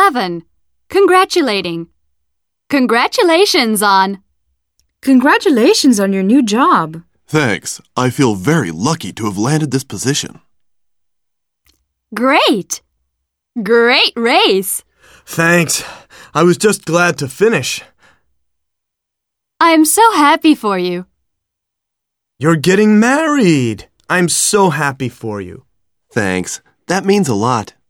11. Congratulating. Congratulations on. Congratulations on your new job. Thanks. I feel very lucky to have landed this position. Great. Great race. Thanks. I was just glad to finish. I'm so happy for you. You're getting married. I'm so happy for you. Thanks. That means a lot.